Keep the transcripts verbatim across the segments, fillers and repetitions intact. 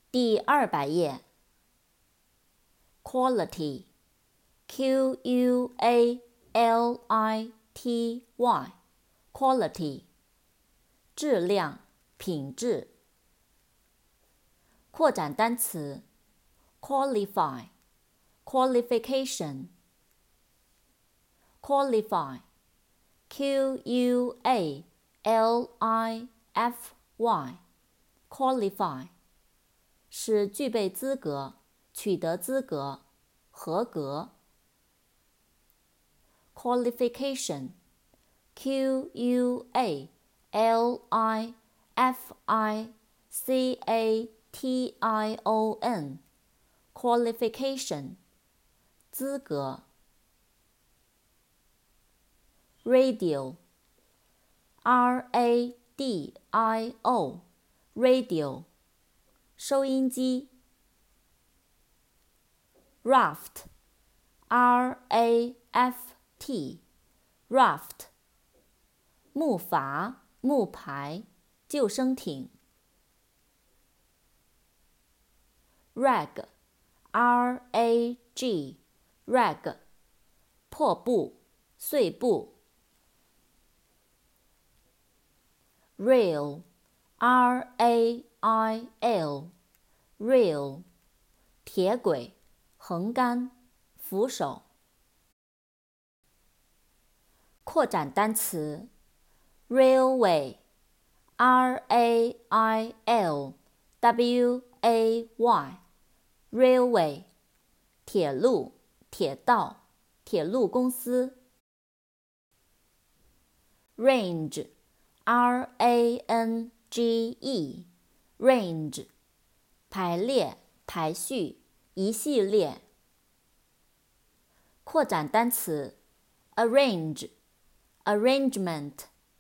第二百页 Quality Q U A L I T Y Quality 质量、品质。扩展单词 Qualify Qualification Qualify Q U A L I F Y Qualify 是具备资格，取得资格，合格。Qualification Q U A L I F I C A T I O N Qualification 资格。Radio R A D I O Radio 收音机。Raft R A F T Raft 木筏、木排、救生艇。Rag R A G Rag 破布、碎布。Rail R A I L Rail 铁轨、横杆、扶手。扩展单词 Railway R A I L W A Y Railway 铁路、铁道、铁路公司。Range R A N G E Range 排列、排序、一系列。扩展单词 Arrange Arrangement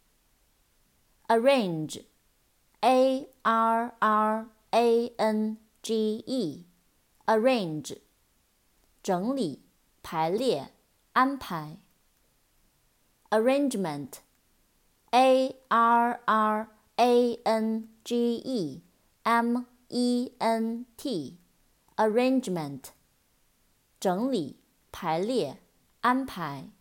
Arrange A R R A N G E Arrange 整理、排列、安排。Arrangement A R R A N G E M E N T Arrangement 整理、排列、安排。